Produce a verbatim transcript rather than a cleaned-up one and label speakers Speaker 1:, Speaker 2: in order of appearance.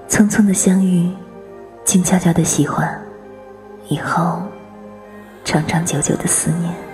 Speaker 1: 匆匆的相遇，静悄悄的喜欢，以后长长久久的思念。